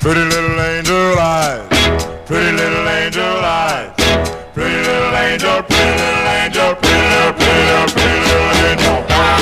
Pretty little angel eyes, pretty little angel eyes, pretty little angel, pretty little angel, pretty little, pretty little, pretty little angel.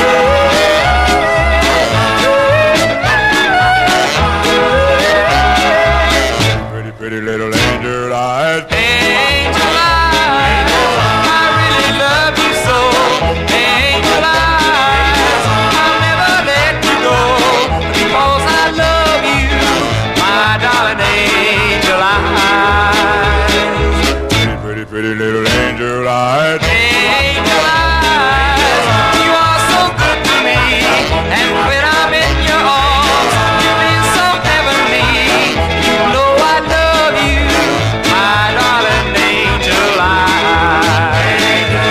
Pretty, pretty little angel eyes. Angel eyes, I really love you so. Angel eyes, I'll never let you go, because I love you, my darling angel eyes. Pretty, pretty, pretty little angel eyes. Angel eyes, you are so good to me, and when I'm in your arms, you feel so heavenly. You know I love you, my darling angel eyes.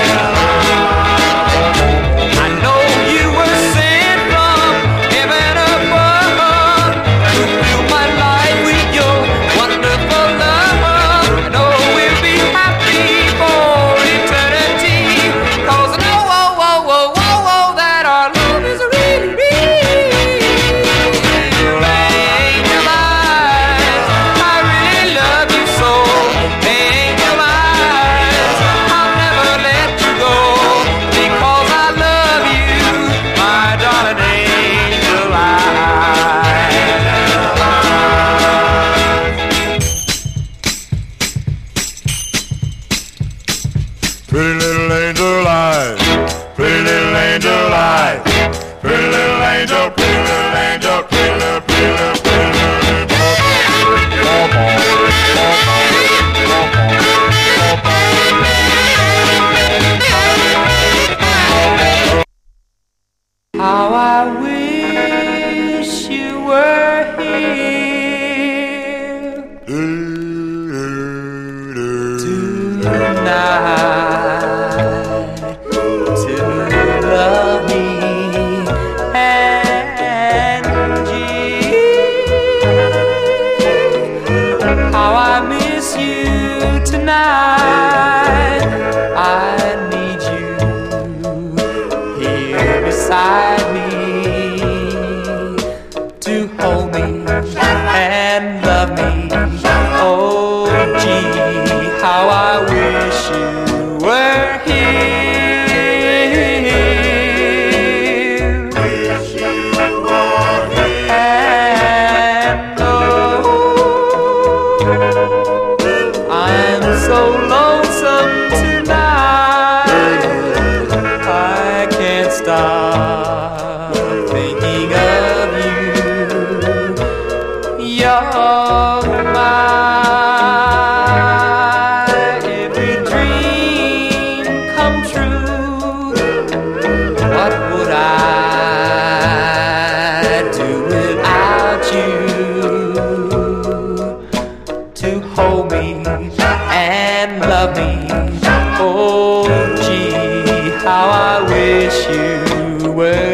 I know you were sent from heaven above to fill my life with your wonderful love. I know we'll be happy for eternity, 'cause I know, that our love is really real. Angel eyes, I really love you so. Angel eyes, I'll never let you go, because I love you, my darling angel eyes. Pretty little angel eyes, pretty little angel eyes, pretty little angel, pretty little angel, pretty little, pretty little, pretty little How I wish you were here tonight to love me and how I miss you tonight. I need you here beside me to hold me and love me. Oh, gee, how I wish you were here. Wish you were here. And oh, I'm so lonesome tonight, I can't stop thinking of you. You're my every dream come true. What would I do without you to hold me and love me? Oh, gee, how I wish you were